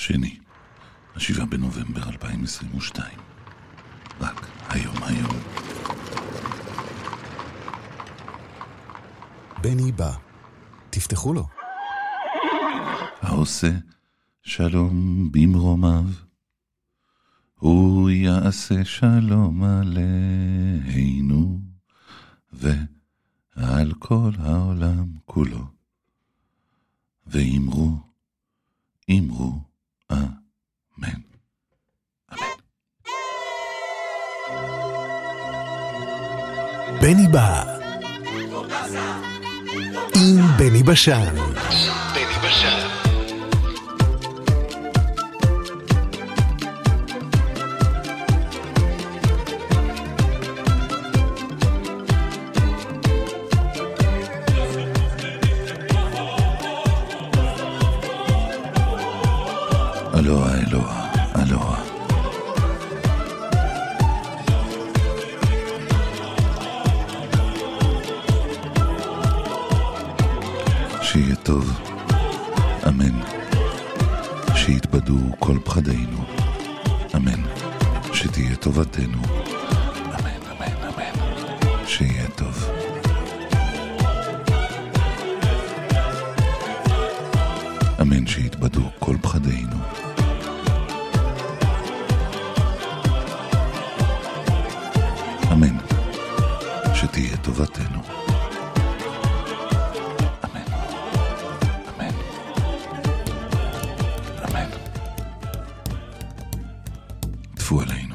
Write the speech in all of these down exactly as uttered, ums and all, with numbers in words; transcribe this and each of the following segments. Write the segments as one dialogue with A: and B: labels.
A: שני, השבעה בנובמבר אלפיים עשרים ושתיים. רק היום היום.
B: בני בא. תפתחו לו.
A: העושה שלום במרומיו, הוא יעשה שלום עלינו ועל כל העולם כולו. ואמרו, אמרו, אמן. אמן.
B: בני בא. עם בני בשן. בני בשן.
A: אלוה, אלוה, אלוה. שיהיה טוב, אמן. שיתבדו כל פחדינו, אמן. שתהיה טובתנו, אמן, אמן, אמן. שיהיה טוב. אמן. שיתבדו כל פחדינו. אמן. שתהיה טובתנו. אמן. אמן. אמן. טפו עלינו.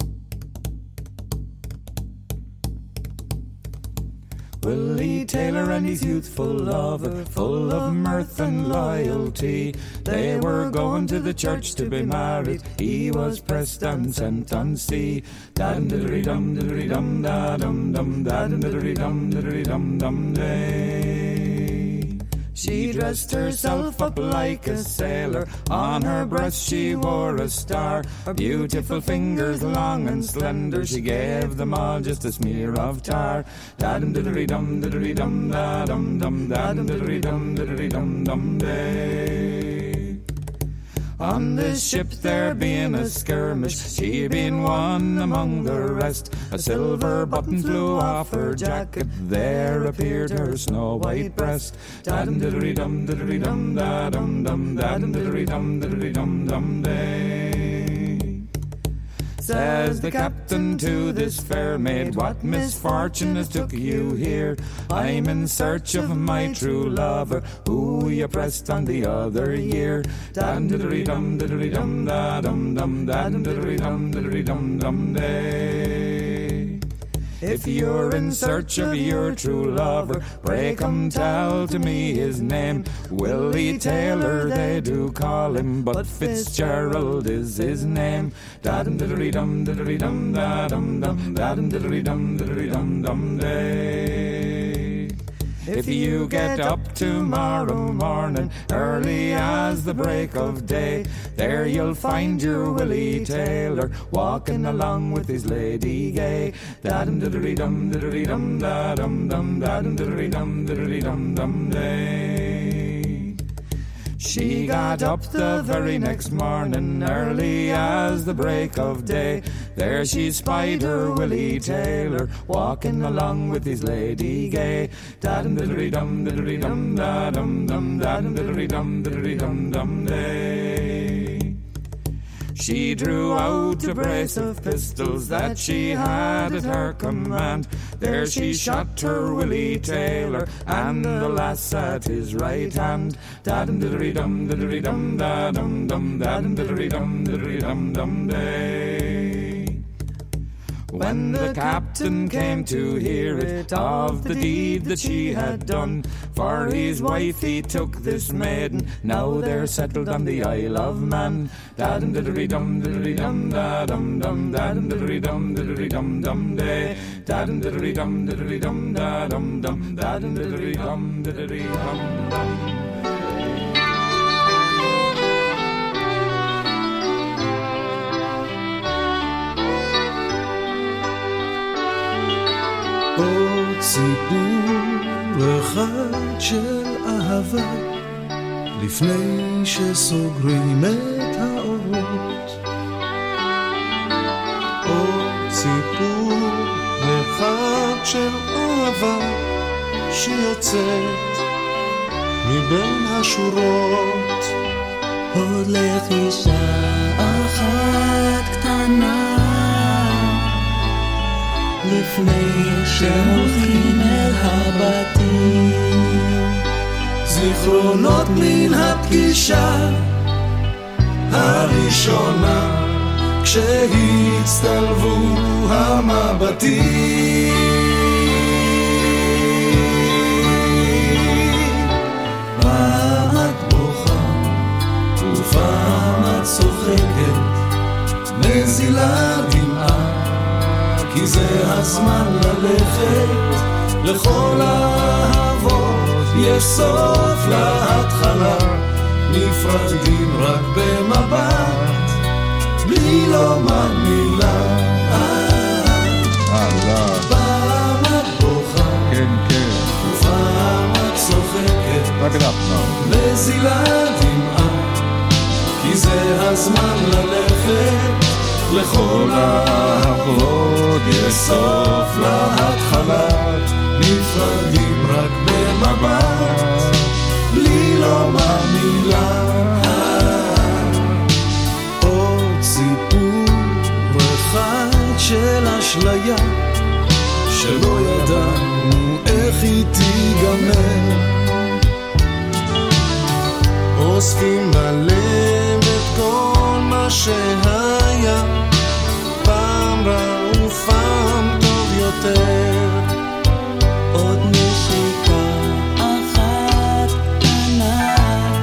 C: Willie Taylor and his youthful lover, full of mirth and loyalty, they were going to the church to be married. He was pressed and sent on sea. Dum diddly dum diddly dum da dum dum da diddly dum diddly dum dum day. She dressed herself up like a sailor, on her breast she wore a star. Her beautiful fingers long and slender, she gave them all just a smear of tar. Da-dum diddly dum diddly dum da-dum dum da-dum diddly dum diddly dum dum day. On this ship there being a skirmish, she being one among the rest. A silver button flew off her jacket, there appeared her snow white breast. Da-dum diddly dum diddly dum da-dum dum da-dum diddly dum diddly dum dum day. Says the captain to this fair maid, what misfortune has took you here? I'm in search of my true lover, who you pressed on the other year. Dum diddly dum diddly dum da dum dum dum diddly dum diddly dum dum day. If you're in search of your true lover, pray come tell to me his name. Willie Taylor they do call him, but Fitzgerald is his name. Da-dum diddly dum diddly dum da-dum dum da-dum diddly dum diddly dum dum day. If you get up tomorrow morning, early as the break of day, there you'll find your Willie Taylor walking along with his lady gay. Da-dum diddly dum diddly dum da-dum dum da-dum diddly dum diddly dum dum day. She got up the very next morning, early as the break of day. There she spied her Willie Taylor walking along with his lady gay. Da-dum diddly dum diddly dum da-dum dum da-dum diddly dum diddly dum dum day. She drew out a brace of pistols that she had at her command. There she shot her Willie Taylor and the lass at his right hand. Da-dum diddly dum diddly dum da-dum dum da-dum diddly dum diddly dum dum day. When the captain came to hear it of the deed that she had done, for his wife he took this maiden, now they're settled on the Isle of Man. Da-dum diddly dum diddly dum da-dum dum da-dum diddly dum diddly dum dum day. Da-dum diddly dum diddly dum da-dum dum da-dum diddly dum diddly dum dum.
D: עוד סיפור אחד של אהבה לפני שסוגרים את האורות. עוד סיפור אחד של אהבה שיוצאת מבין השורות.
E: עוד לחישה אחת קטנה לפני שהולכים אל הבתים.
D: זיכרונות מן הפגישה הראשונה כשהצטלבו המבטים. פעם את בוכה ופעם את צוחקת, נזילה דמעה, כי זה הזמן ללכת. לכל האהבות יש סוף להתחלה, נפרדים רק במבט, בלי לומר מילה. פעם את בוכה,
C: כן, כן.
D: ופעם את צוחקת, נזילה דמעה, כי זה הזמן ללכת. לכל האהבות יש סוף להתחלה, נפרדים רק במבט, בלי לומר מילה. עוד סיפור אחד של אשליה שלא ידענו איך היא תיגמר. אוספים בלב את כל מה שהיה, פעם רע ופעם טוב יותר.
E: עוד נשיקה אחת קטנה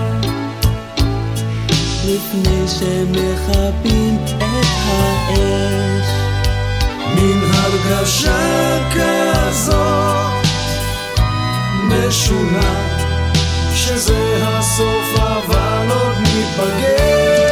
E: לפני שמכבים את האש.
D: מן הרגשה כזאת משונה שזה הסוף אבל עוד נתבגר.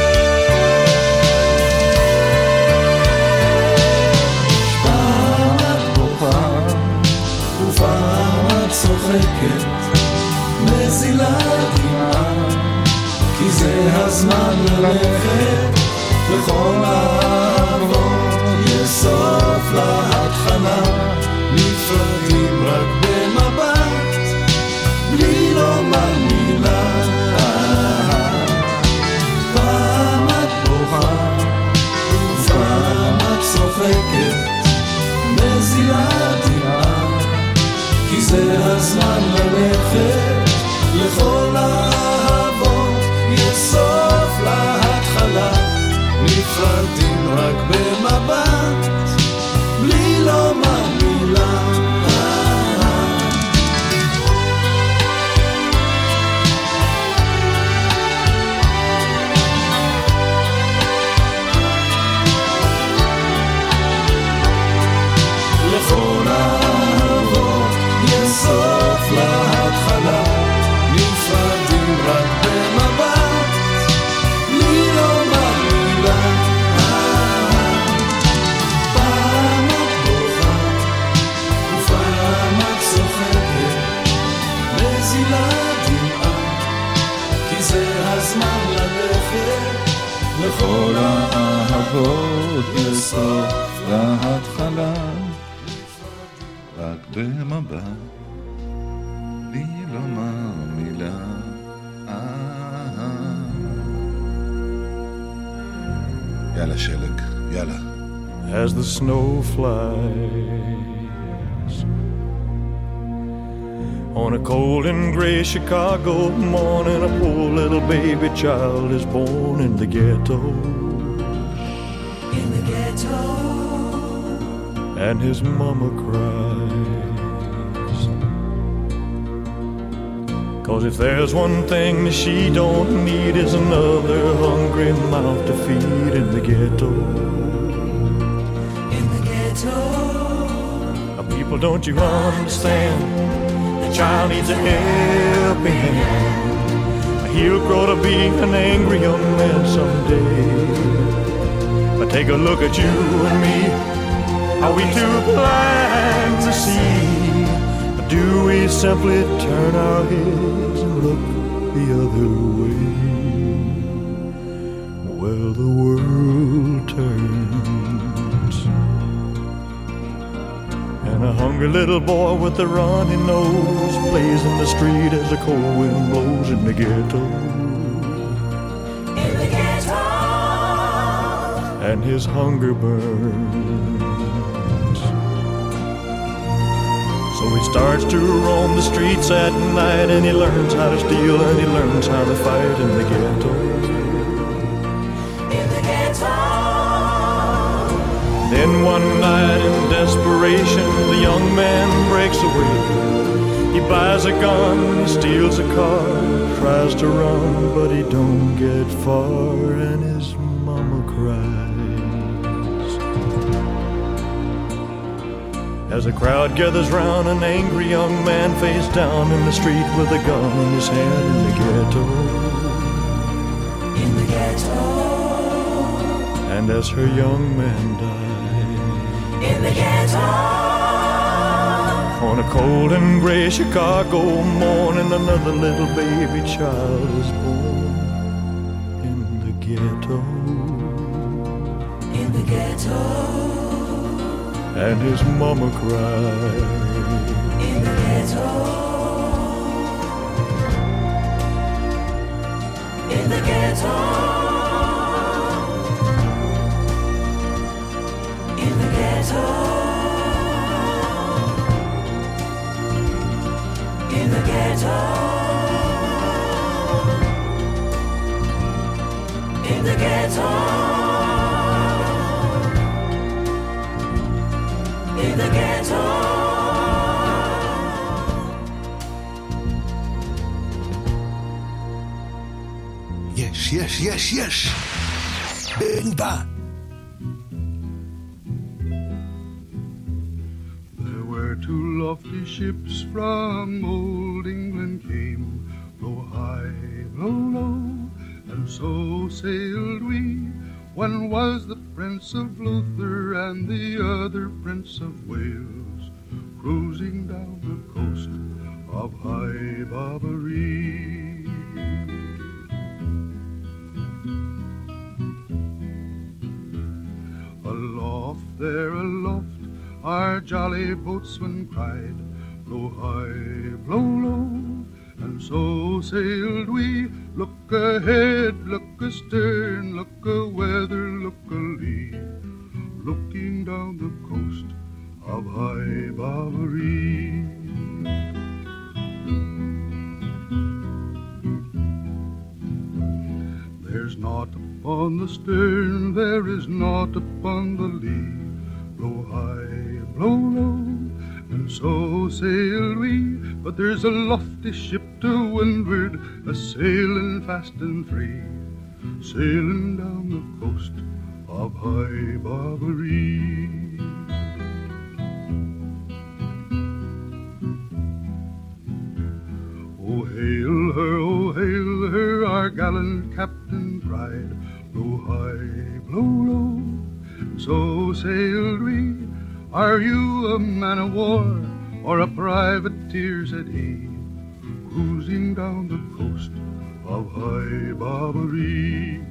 D: פעם את בוכה ופעם את צוחקת, נזילה דמעה, כי זה הזמן ללכת. לכל האהבות יש סוף להתחלה, נפרדים רק במבט, בלי לומר מילה. פעם את בוכה ופעם את צוחקת, נזילה דמעה, כי זה הזמן ללכת. לכל האהבות יש סוף להתחלה, נפרדים רק במבט, בלי לומר מילה. לכל האהבות יש סוף להתחלה, נפרדים רק במבט, בלי לומר מילה. פעם את בוכה ופעם את צוחקת, נזילה דמעה, כי זה הזמן ללכת.
C: לכל האהבות יש סוף להתחלה, רק במבט, בלי לומר מילה. יאללה שלג, יאללה.
F: As the snow flies on a cold and gray Chicago morning, a poor little baby child is born in the ghetto.
E: In the ghetto.
F: And his mama cries, 'cause if there's one thing that she don't need is another hungry mouth to feed in the ghetto.
E: In the ghetto.
F: Now people, don't you understand? The child needs a helping hand. He'll grow to be an angry young man someday. But take a look at you and me. Are we too blind to see? Or do we simply turn our heads and look the other way. Well, the world turns, and a hungry little boy with a runny nose plays in the street as the cold wind blows in the ghetto.
D: In the ghetto.
F: And his hunger burns. So he starts to roam the streets at night, and he learns how to steal, and he learns how to fight in the ghetto.
D: In the ghetto.
F: Then one night in desperation, the young man breaks away. He buys a gun, he steals a car, tries to run, but he don't get far, and his mama cries. As a crowd gathers round, an angry young man face down in the street with a gun in his hand in the ghetto.
D: In the ghetto.
F: And as her young man died,
D: in the ghetto.
F: on a cold and gray Chicago morning, another little baby child is born in the ghetto.
D: In the ghetto.
F: And his mama cried.
D: In the ghetto. In the ghetto. In the ghetto. In the ghetto. In the ghetto. In the ghetto.
B: Yes, yes, yes, yes. Bimba.
G: There were two lofty ships from old England came, blow high, blow low, and so sailed we. One was the Prince of Luther and the other Prince of Wales, cruising down the coast of High Barbary. Aloft there, aloft, our jolly boatswain cried, blow high, blow low, and so sailed we. Look ahead, look astern, look a-weather, look a-lee, looking down the coast of High Barbary. There's naught upon the stern, there is naught upon the lee, blow high, blow low, and so sailed we. But there's a lofty ship to windward, a-sailing fast and free, sailing down the coast of High Barbary. Oh, hail her, oh, hail her, our gallant captain cried, blow high, blow low, so sailed we. Are you a man of war or a privateer, said he, cruising down the coast of High Barbary.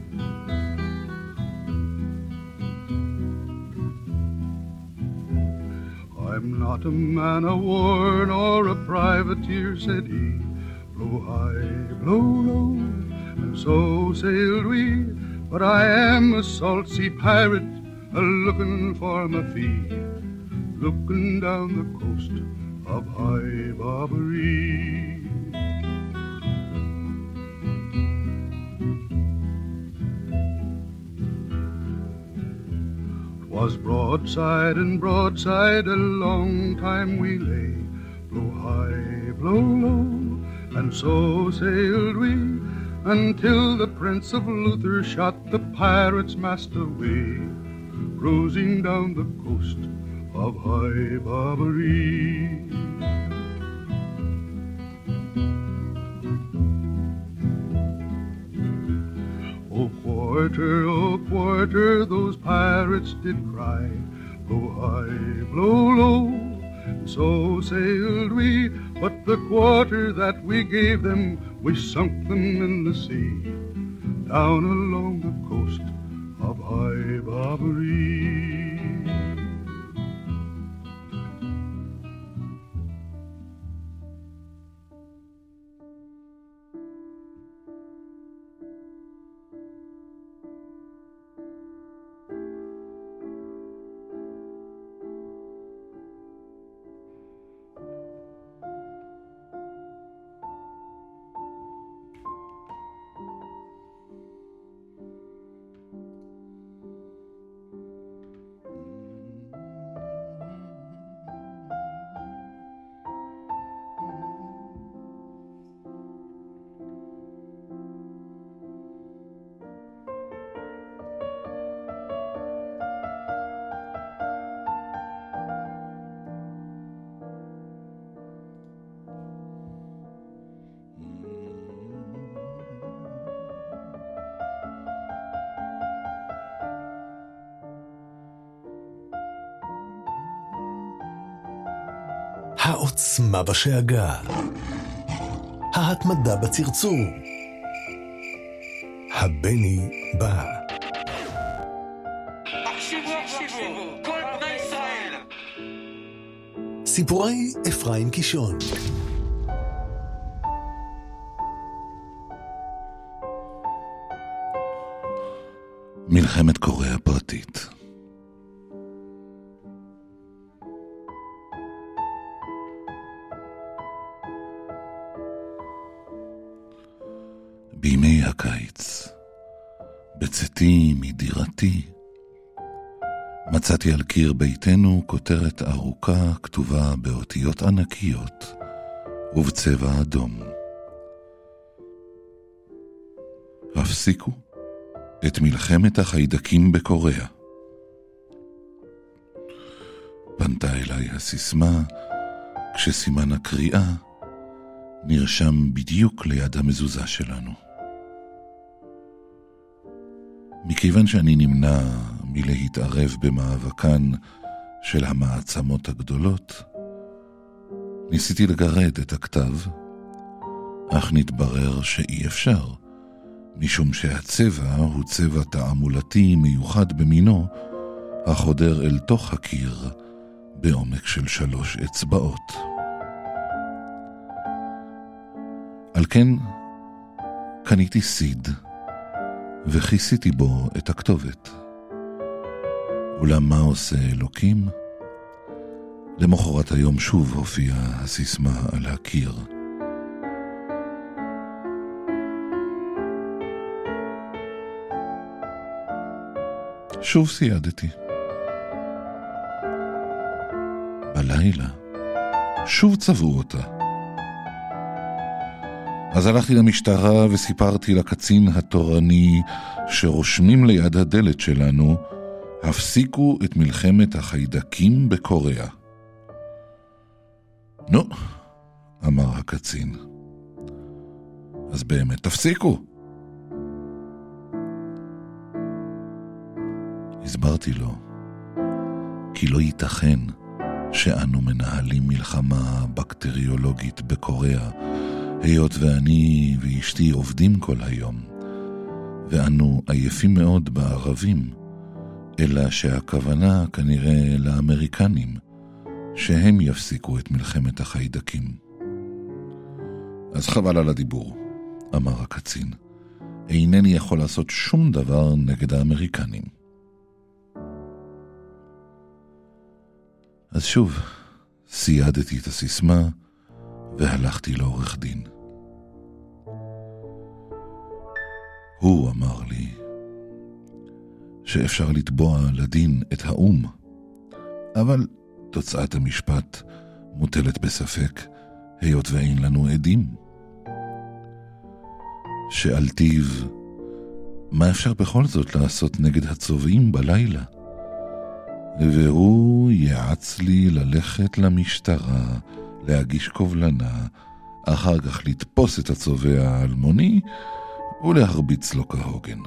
G: I'm not a man of war nor a privateer, said he, blow high, blow low, and so sailed we. But I am a salt sea pirate, a-looking for my fee, looking down the coast of High Barbary. Was broadside and broadside, a long time we lay, blow high, blow low, and so sailed we, until the Prince of Luther shot the pirate's mast away, cruising down the coast of High Barbary. Oh, quarter, oh, quarter, those pirates did cry, blow high, blow low, and so sailed we, but the quarter that we gave them we sunk them in the sea, down along the coast of High Barbary.
B: העוצמה בשאגה, ההתמדה בצרצור, הבני בא.
H: הקשיבו, הקשיבו, כל בני ישראל.
B: סיפורי אפרים קישון.
A: מלחמת קוריאה פרטית. בימי הקיץ, בצאתי מדירתי, מצאתי על קיר ביתנו כותרת ארוכה כתובה באותיות ענקיות ובצבע אדום. הפסיקו את מלחמת החיידקים בקוריאה. פנתה אליי הסיסמה כשסימן הקריאה נרשם בדיוק ליד המזוזה שלנו. מכיוון שאני נמנע מלהתערב במאבקן של המעצמות הגדולות, ניסיתי לגרד את הכתב, אך נתברר שאי אפשר, משום שהצבע הוא צבע תעמולתי מיוחד במינו, החודר אל תוך הקיר בעומק של שלוש אצבעות. על כן קניתי סיד וכיסיתי בו את הכתובת. אולם מה עושה אלוקים? למחרת היום שוב הופיעה הסיסמה על הקיר. שוב סיידתי. בלילה שוב צבעו אותה. אז הלכתי למשטרה וסיפרתי לקצין התורני שרושמים ליד הדלת שלנו, הפסיקו את מלחמת החיידקים בקוריאה. נו, אמר הקצין. אז באמת תפסיקו. הסברתי לו, כי לא ייתכן שאנו מנהלים מלחמה בקטריולוגית בקוריאה, היות ואני ואשתי עובדים כל היום, ואנו עייפים מאוד בערבים, אלא שהכוונה כנראה לאמריקנים, שהם יפסיקו את מלחמת החיידקים. אז חבל על הדיבור, אמר הקצין. אינני יכול לעשות שום דבר נגד האמריקנים. אז שוב, סיידתי את הסיסמה, והלכתי לעורך דין. הוא אמר לי שאפשר לתבוע לדין את האום, אבל תוצאת המשפט מוטלת בספק, היות ואין לנו עדים. שאלתיו, מה אפשר בכל זאת לעשות נגד הצובעים בלילה? והוא יעץ לי ללכת למשטרה, להגיש קובלנה, אחר כך לתפוס את הצובע האלמוני ולהרביץ לו כהוגן.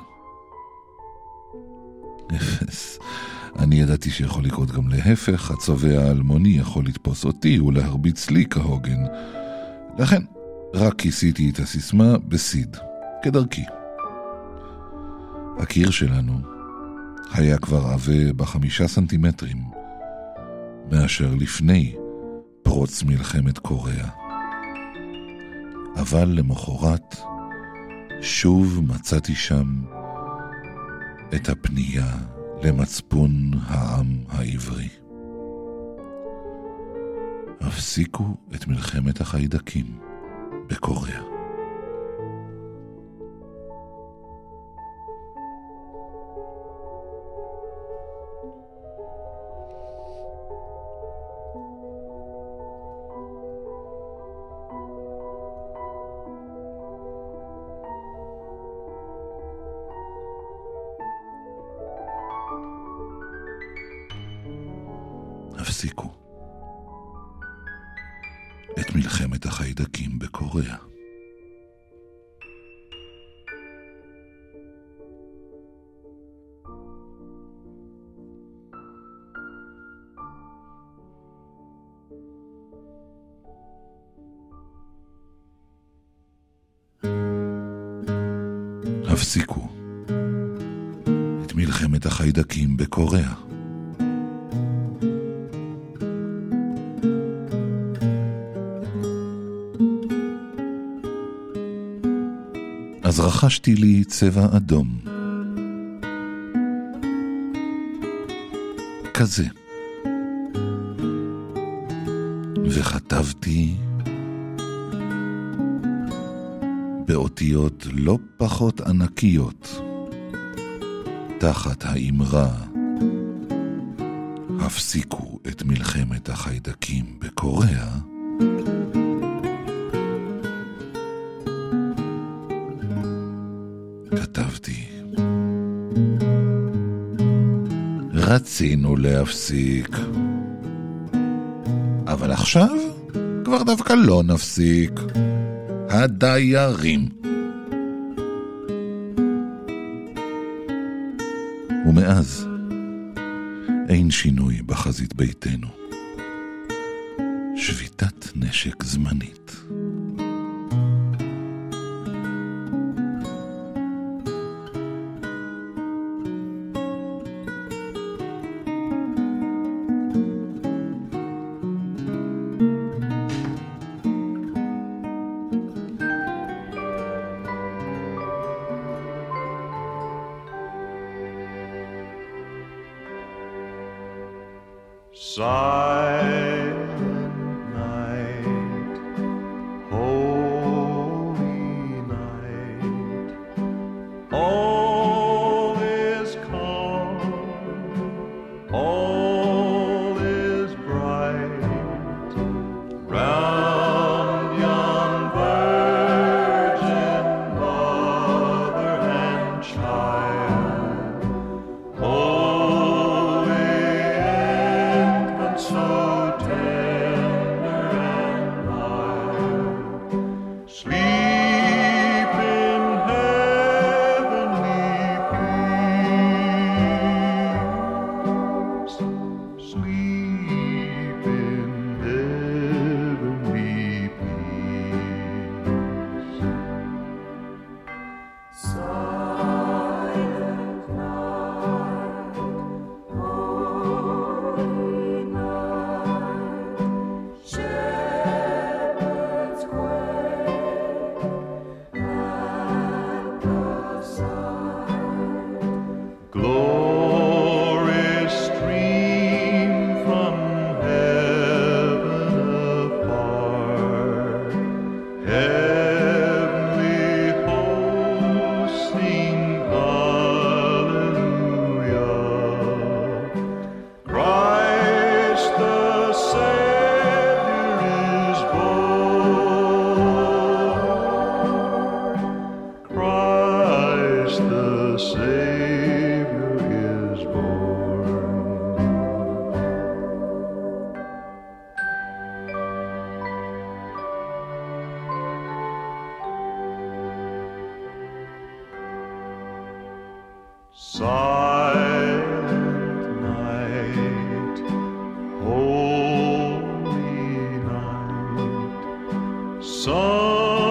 A: אפס. אני ידעתי שיכול לקרות גם להפך, הצובע האלמוני יכול לתפוס אותי ולהרביץ לי כהוגן. לכן רק כיסיתי את הסיסמה בסיד, כדרכי. הקיר שלנו היה כבר עבה בחמישה סנטימטרים, מאשר לפני פרוץ מלחמת קוריאה. אבל למחרת שוב מצאתי שם את הפנייה למצפון העם העברי. הפסיקו את מלחמת החיידקים בקוריאה. הפסיקו את מלחמת החיידקים בקוריאה. הפסיקו את מלחמת החיידקים בקוריאה. אז רכשתי לי צבע אדום. כזה. וכתבתי באותיות לא פחות ענקיות תחת האמרה הפסיקו את מלחמת החיידקים בקוריאה. כתבתי רצינו להפסיק, אבל עכשיו כבר דווקא לא נפסיק. הדיירים. ומאז אין שינוי בחזית ביתנו. שביתת נשק זמנית.
F: Silent night, holy night, all is calm, all is bright, round yon virgin mother and child, holy infant, so tender and mild, sleep in heavenly peace, sleep in heavenly peace.
D: Silent night, holy night, shepherds quake at the sight.
F: Glory stream from heaven afar, heavenly hosts sing hallelujah. Christ the Savior is born. Christ the Savior is born. Silent night, holy night, sun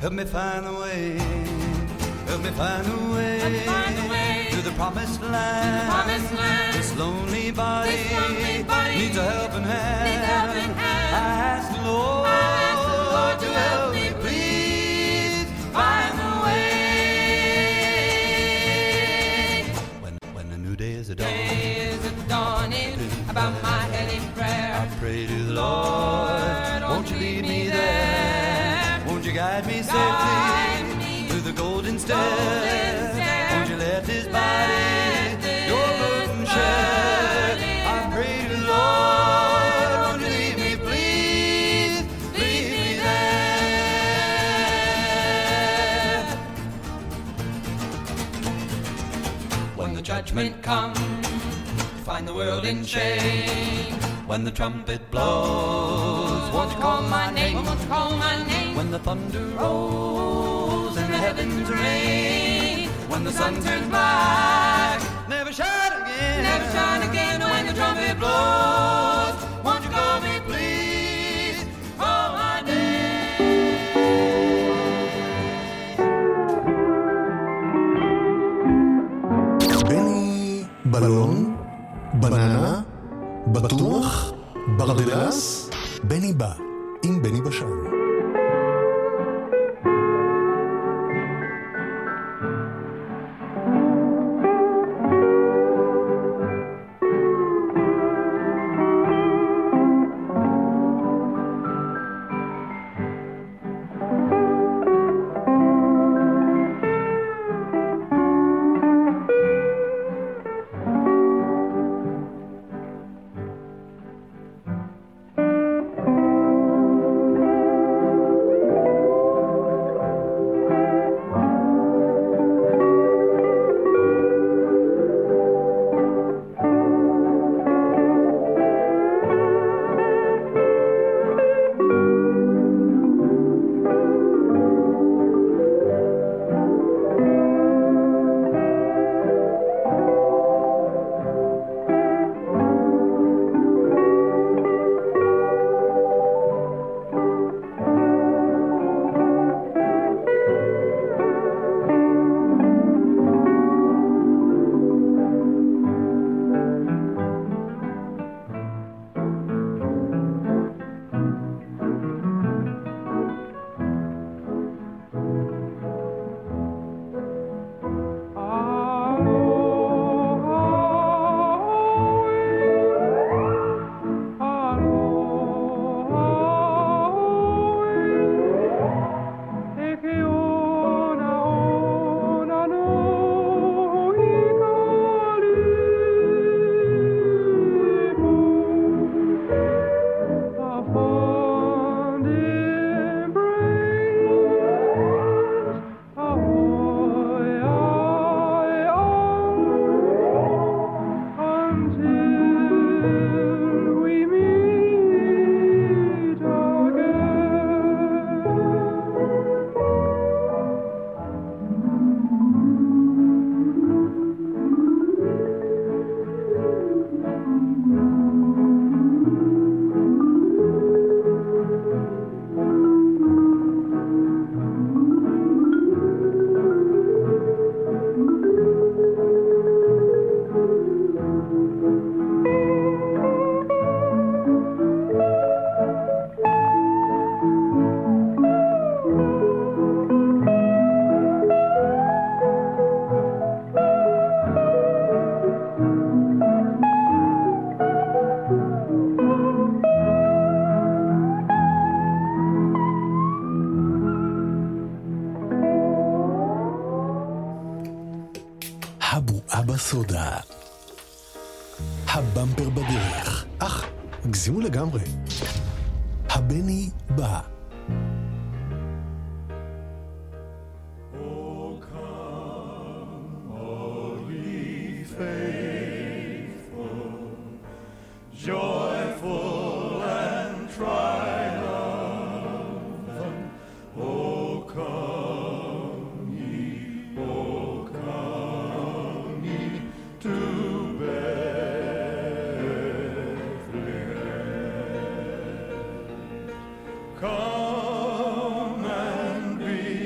I: help me find a way, help me find a way,
J: help me find a way
I: to the promised land.
J: The promised land.
I: This lonely body,
J: this lonely body
I: needs a helping hand.
J: Needs a helping hand.
I: I ask the Lord,
J: I ask the Lord
I: to help me, please find a way. When when the new day is a dawn,
J: day is a dawning, about my head in prayer.
I: I pray to the Lord,
J: Lord,
I: won't you lead me there? Won't you guide me safely
J: Guide me
I: through the golden stair?
J: golden stair.
I: Won't you let this body your burden share? I pray to the Lord, won't you lead me, please, lead me there.
J: When the judgment comes, find the world in shame.
I: When the trumpet blows, won't you call my name?
J: Won't you call my name?
I: When the thunder rolls and the heavens rain, when the sun turns black, never shine again,
J: never shine again. When the trumpet blows,
I: won't you call me, please, call my
B: name. בני בלון, בננה, בטוח, ברדלס, בני בא, עם בני בשן. הבועה בסודה. הבמפר בדרך. אך, הגזימו לגמרי. הבני בא.
F: Come and be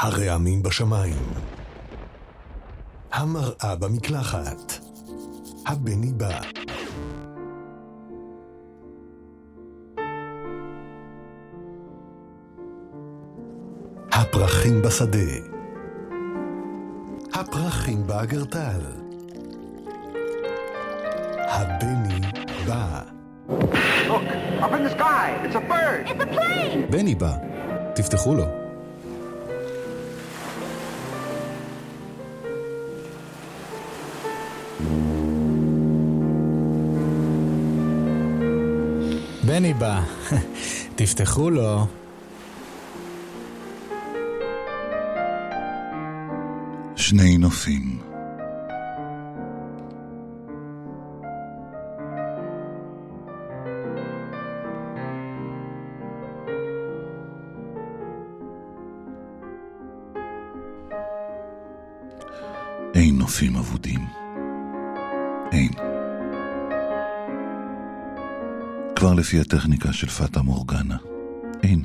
B: הרעמים בשמיים, המראה במקלחת, הבני בא. הפרחים בשדה, הפרחים באגרטל, הבני בא.
K: Look, up in the sky, it's a bird. It's a plane.
L: בני בא, תפתחו לו. בני בא, תפתחו לו.
A: שני נופים. אין נופים אבודים. אין. כבר לפי הטכניקה של פטה מורגנה. אין.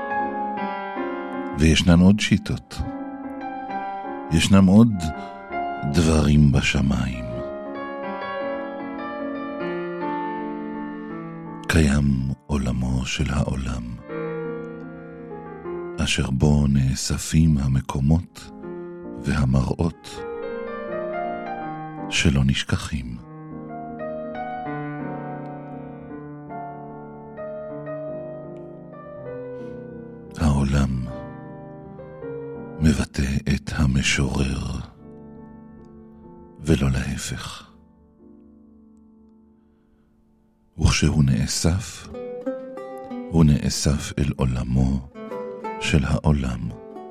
A: וישנן עוד שיטות. ישנם עוד דברים בשמיים. קיים עולמו של העולם, אשר בו נאספים המקומות והמראות שלא נשכחים. העולם מבטא את המשורר, ולא להפך. וכשהוא נאסף, הוא נאסף אל עולמו של העולם.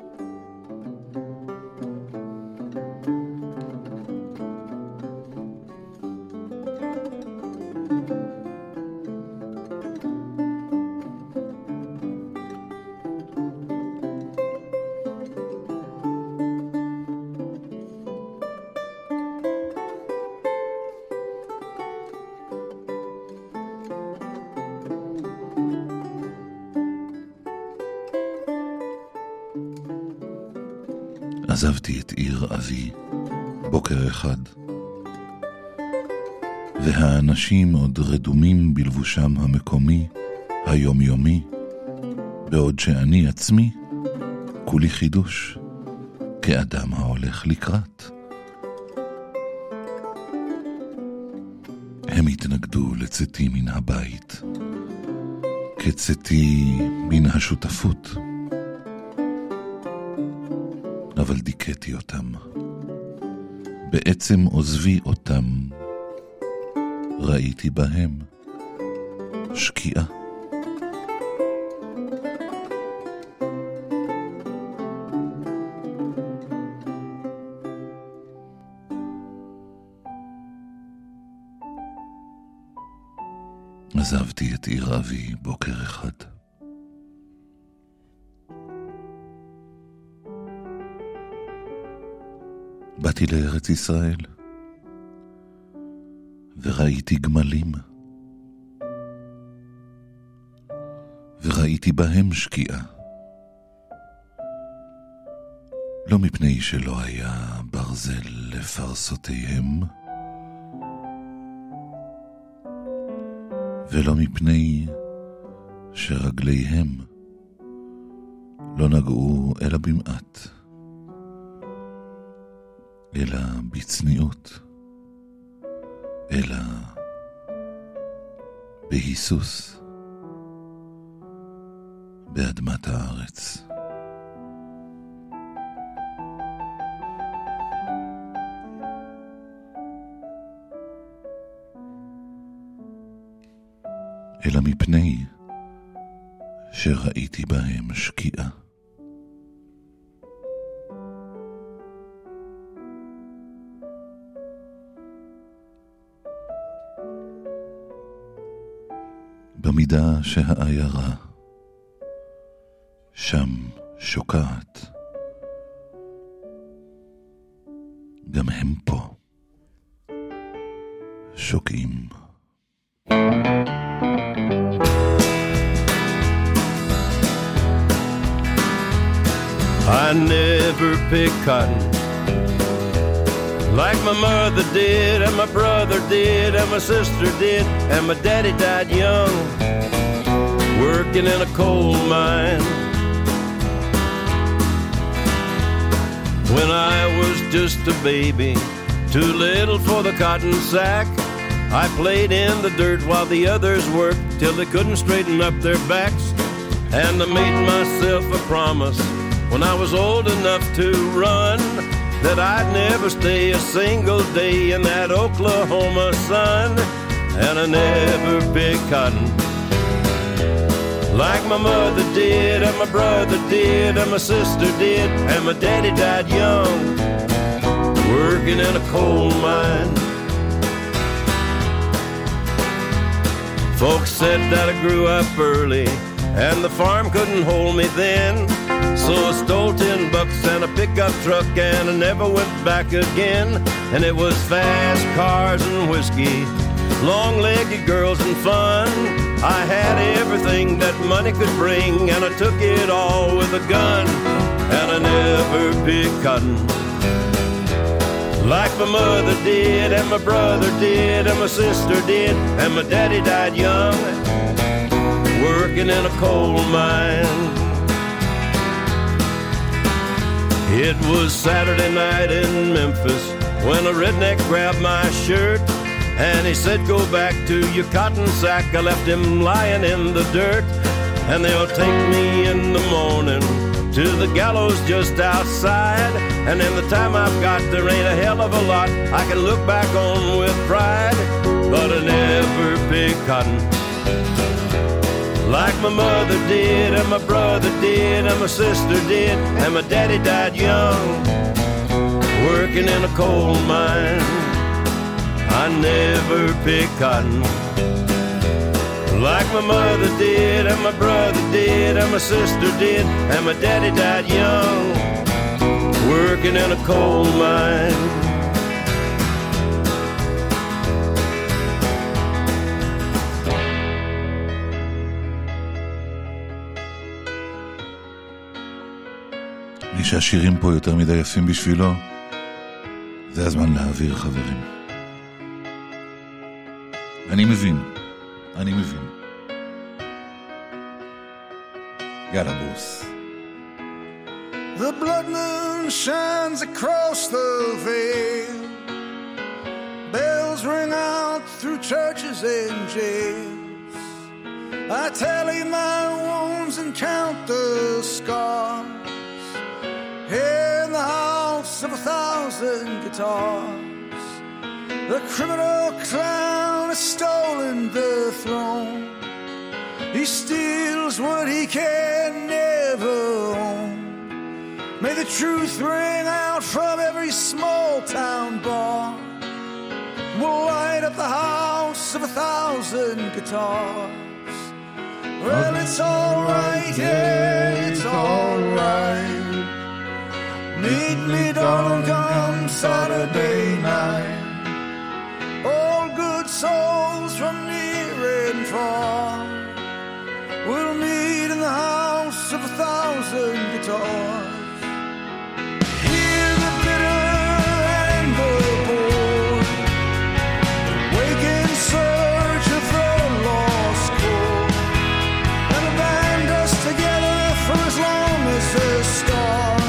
A: עזבתי את עיר אבי בוקר אחד, והאנשים עוד רדומים בלבושם המקומי, היומיומי, בעוד שאני עצמי כולי חידוש, כאדם ההולך לקראת. הם התנגדו לצאתי מן הבית, כצאתי מן השותפות, אבל דיכאתי אותם. בעצם עוזבי אותם, ראיתי בהם שקיעה. עזבתי את עיר אבי בוקר אחד. באתי לארץ ישראל, וראיתי גמלים, וראיתי בהם שקיעה. לא מפני שלא היה ברזל לפרסותיהם, ולא מפני שרגליהם לא נגעו אלא במעט, אלא בצניעות, אלא בהיסוס באדמת הארץ. אלא מפני שראיתי בהם שקיעה. במידה שהעיירה שם שוקעת, גם הם פה שוקעים.
M: I never picked cotton like my mother did, and my brother did, and my sister did, and my daddy died young, working in a coal mine. When I was just a baby, too little for the cotton sack, I played in the dirt while the others worked till they couldn't straighten up their backs. And I made myself a promise when I was old enough to run that I'd never stay a single day in that Oklahoma sun. And I never picked cotton like my mother did, and my brother did, and my sister did, and my daddy died young, working in a coal mine. Folks said that I grew up early and the farm couldn't hold me then, so I stole ten bucks and a pickup truck and I never went back again. And it was fast cars and whiskey, long-legged girls and fun. I had everything that money could bring, and I took it all with a gun. And I never picked cotton like my mother did, and my brother did, and my sister did, and my daddy died young, working in a coal mine. It was Saturday night in Memphis when a redneck grabbed my shirt, and he said, go back to your cotton sack. I left him lying in the dirt, and they'll take me in the morning to the gallows just outside. And in the time I've got, there ain't a hell of a lot I can look back on with pride. But I never picked cotton like my mother did, and my brother did, and my sister did, and my daddy died young, working in a coal mine. I never picked cotton like my mother did, and my brother did, and my sister did, and my daddy died young, working in a coal mine.
A: מי שהשירים פה יותר מדי יפים בשבילו, זה הזמן להעביר, חברים. אני מבין, אני מבין. יאללה בוס.
N: The blood moon shines across the veil, bells ring out through churches and jails. I tally my wounds and count the scars in the house of a thousand guitars. The criminal clown has stolen the throne. He steals what he can never own. May the truth ring out from every small town bar. We'll light up the house of a thousand guitars. Well, it's all right, yeah, it's all right. Meet me, darling, come Saturday night. All good souls from near and far will meet in the house of a thousand guitars. Hear the bitter and the bored, wake in search of the lost chord, and band us together for as long as the stars.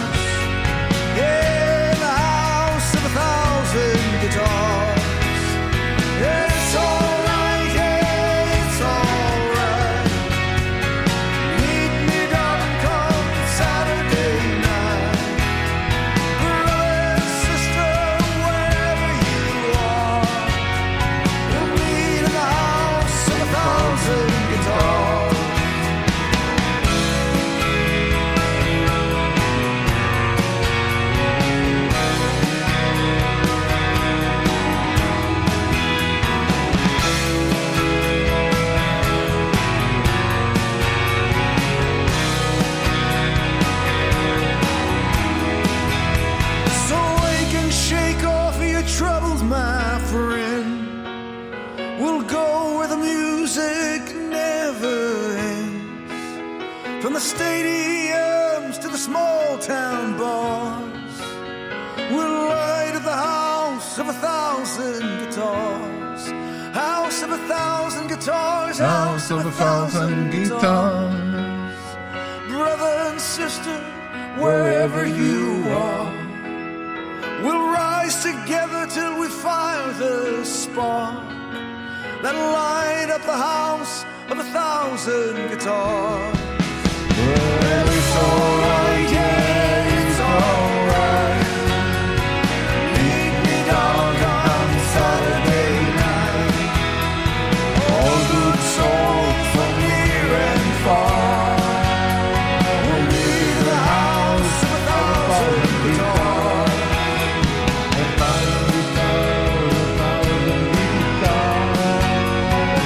N: From the stadiums to the small town boss. We'll light up the house of a thousand guitars. House of a thousand guitars.
A: House of a thousand guitars.
N: Brother and sister, wherever you are, we'll rise together till we fire the spark that'll light up the house of a thousand guitars.
A: Well, it's alright, yeah, it's alright. Meet me downtown Saturday night. All good souls from near and far. We'll leave the house of a thousand guitars. A thousand guitars, a thousand guitars.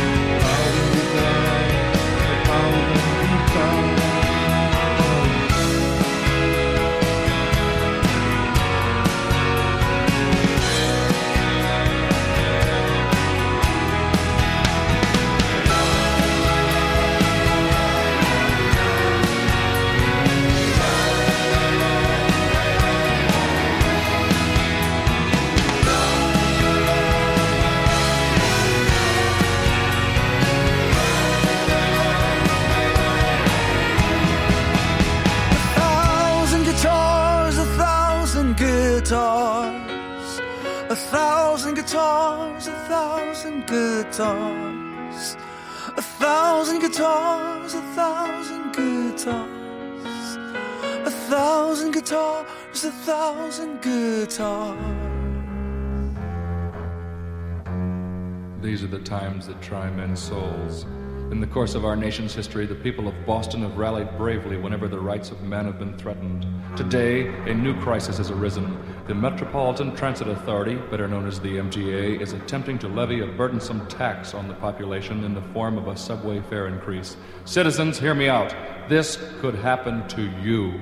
A: A thousand guitars, a thousand guitars.
N: A thousand guitars, a thousand guitars, a thousand guitars, a thousand guitars, a thousand guitars, a thousand guitars.
O: These are the times that try men's souls. In the course of our nation's history, the people of Boston have rallied bravely whenever the rights of man have been threatened. Today, a new crisis has arisen. The Metropolitan Transit Authority, better known as the M T A, is attempting to levy a burdensome tax on the population in the form of a subway fare increase. Citizens, hear me out. This could happen to you.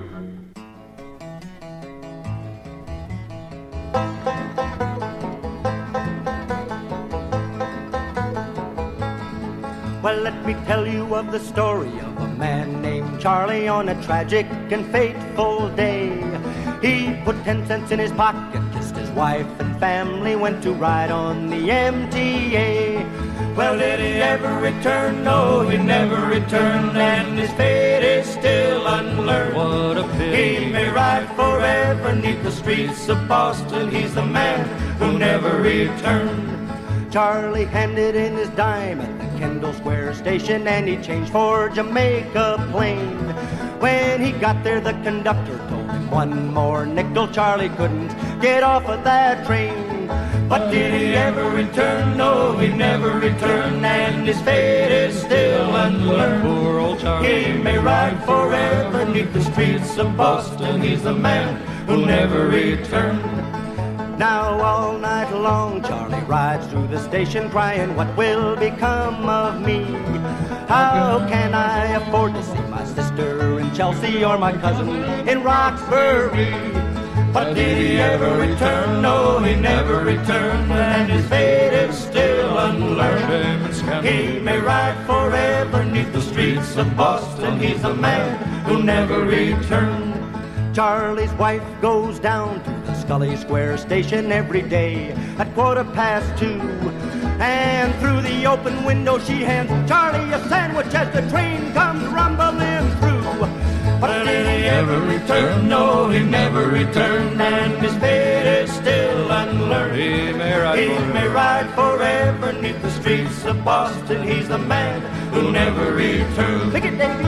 P: Well, let me tell you of the story of a man named Charlie on a tragic and fateful day. He put ten cents in his pocket, kissed his wife and family, went to ride on the M T A.
J: Well, did he ever return? No, he never returned, and his fate is still unlearned.
O: What a pity.
J: He may ride forever 'neath the streets of Boston. He's the man who never returned.
P: Charlie handed in his dime at the Kendall Square station, and he changed for Jamaica Plain. When he got there, the conductor told him one more nickel. Charlie couldn't get off of that train.
J: But did he ever return? No, he never returned, and his fate is still unlearned.
O: Poor old Charlie.
J: He may ride forever 'neath the streets of Boston. He's the man who never returned.
P: Now all night long Charlie rides through the station crying, what will become of me? How can I afford to see my sister in Chelsea or my cousin in Roxbury?
J: But did he ever return? No, he never returned, and his fate is still unlearned. He may ride forever 'neath the streets of Boston. He's a man who never returned.
P: Charlie's wife goes down to the Scully Square station every day at quarter past two. And through the open window she hands Charlie a sandwich as the train comes rumbling through.
J: But did he ever return? No, he never returned, and his fate is still unlearned.
O: He may ride,
J: he
O: forever.
J: may ride forever 'neath the streets of Boston. He's the man who never returned.
P: Pick it, Davy.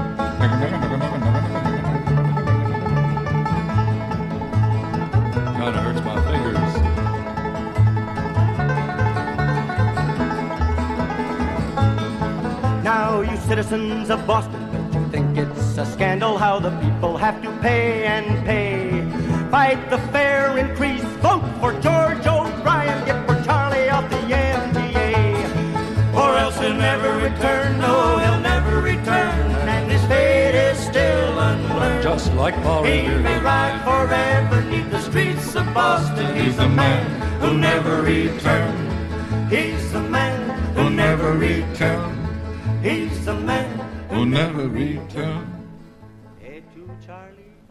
O: Kinda hurts my fingers.
P: Now, you citizens of Boston, don't you think it's a scandal how the people have to pay and pay? Fight the fare increase, vote for George O'Brien, get for Charlie off the M T A.
J: Or else he'll never return, no, he'll never return, and his fate is still unlearned.
O: Just like Paul
J: He
O: Revere.
J: may ride forever 'neath the streets of Boston. He's the man who never returned. He's the man who never returned. He's the man
A: who never returned.
P: Hey, to Charlie.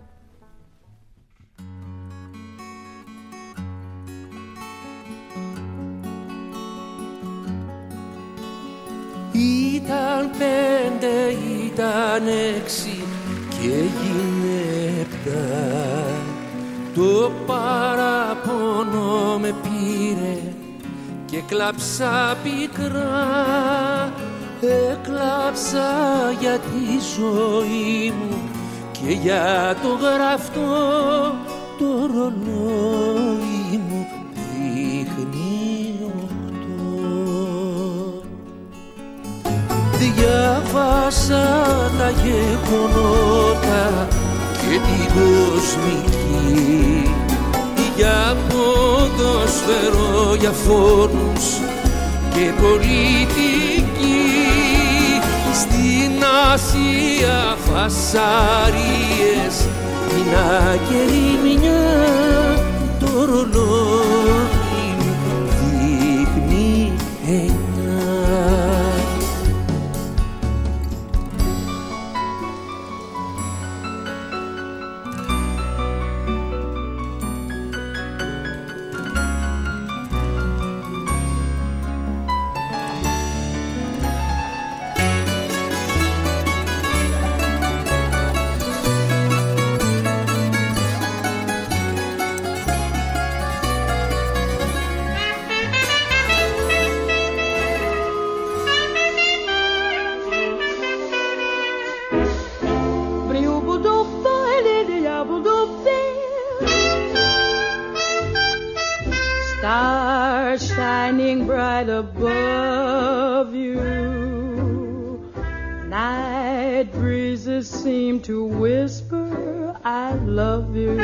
Q: ήταν πέντε, ήταν έξι και έγινε επτά. Το παραπονό με πήρε και κλάψα πικρά. Έκλαψα για τη ζωή μου και για το γραφτό το ρολόι μου δείχνει οχτώ. Διάβασα τα γεγονότα και την κοσμική, για ποδοσφαιρό, για φόρους και πολιτική. Στην Ασία φασαρίες, την ακεριμνιά, το ρολόι μου δείχνει εννιά.
R: Above you, night breezes seem to whisper, I love you.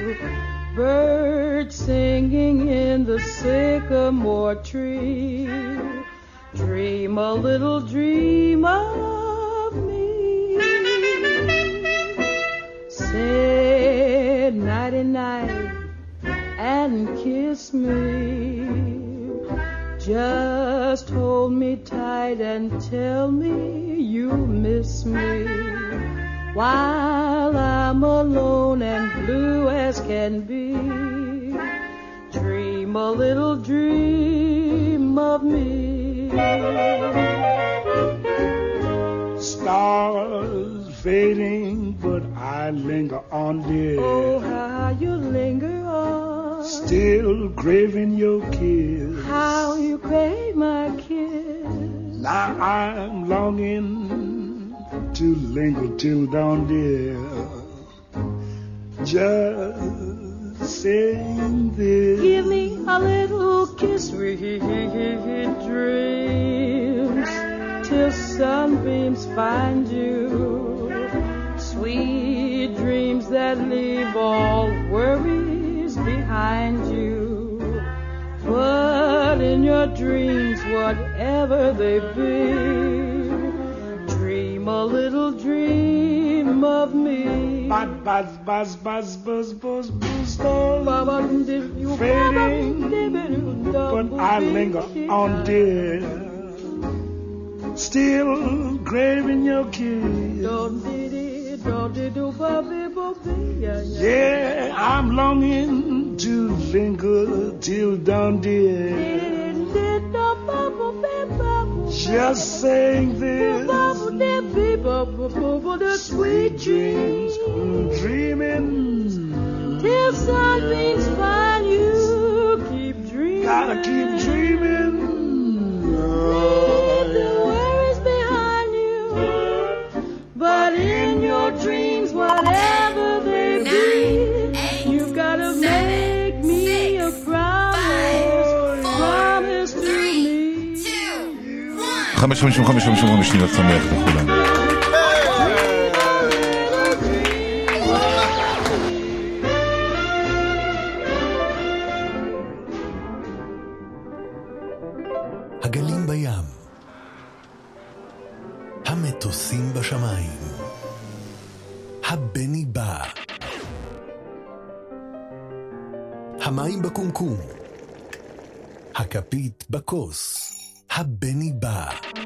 R: Birds singing in the sycamore tree, dream a little dream of me. Say nighty night and kiss me. Just hold me tight and tell me you miss me, while I'm alone and blue as can be. Dream a little dream of me.
S: Stars fading, but I linger on, dear.
R: Oh, how you linger on.
S: Still craving your kiss.
R: How you crave my kiss.
S: Now I'm longing to linger till dawn, dear. Just saying this.
R: Give me a little kiss, sweet dreams, till sunbeams find you. Sweet dreams that leave all worries behind you. But in your dreams, whatever they be, dream a little dream of me.
S: Buzz, buzz, buzz, buzz, buzz, buzz, buzz, fading, but I linger on, dear. Still craving your kiss. Yeah, I'm longing to linger till dawn, dear. Just saying this. Sweet dreams, dreaming
R: till sunbeams find you. Keep dreaming.
S: Gotta keep dreaming.
R: Leave the worries behind you. But in your dreams, whatever they be, you've gotta make me a promise. Promise to me.
A: חמש חמישים וחמש חמישים וחמש שניות שמח לכולם.
B: הגלים בים, המטוסים בשמיים, הבני בא, המים בקומקום, הכפית בכוס, הבני בא,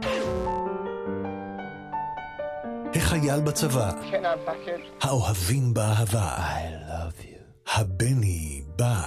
B: החייל בצבא, האוהבים באהבה, I love you, הבני בא.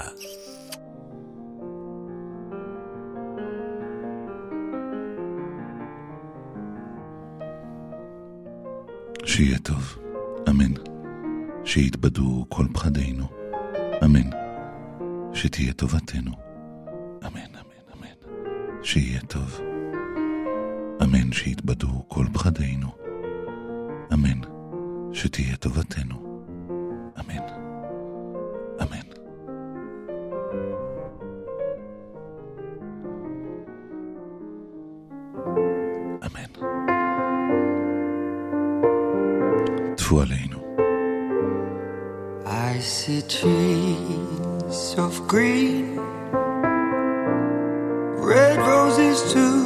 A: שיהיה טוב, אמן. שיתבדו כל פחדינו, אמן. שתהיה טובתנו, אמן, אמן, אמן. שיהיה טוב, אמן. שיתבדו כל פחדינו, אמן. שתהיה טובתנו, אמן, אמן. אמן. טפו עלינו.
T: I see trees of green, red roses too.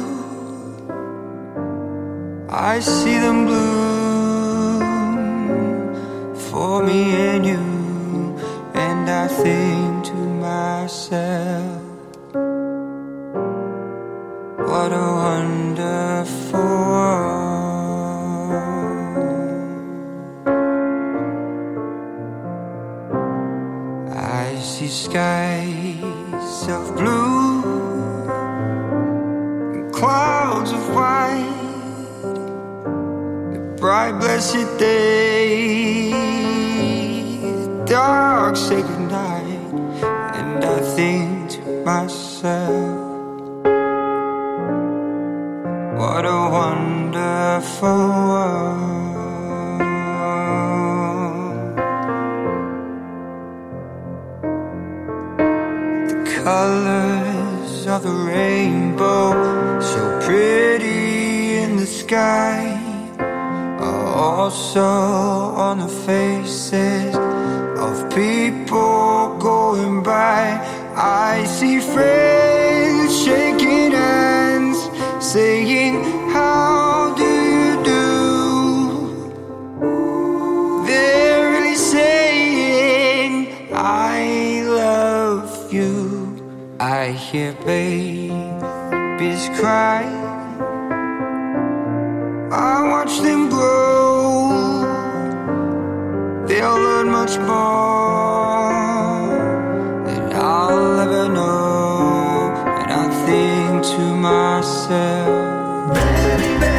T: I see them bloom for me and you, and I think to myself, what a wonderful world. I see skies of blue and clouds of white, the bright blessed day, the dark sacred night, and I think to myself, what a wonderful world. Colors of the rainbow, so pretty in the sky, are also on the faces of people going by. I see friends shaking hands, saying, how do you do? They're really saying, I love you. I hear babies cry, I watch them grow, they'll learn much more than I'll ever know. And I think to myself, baby, baby.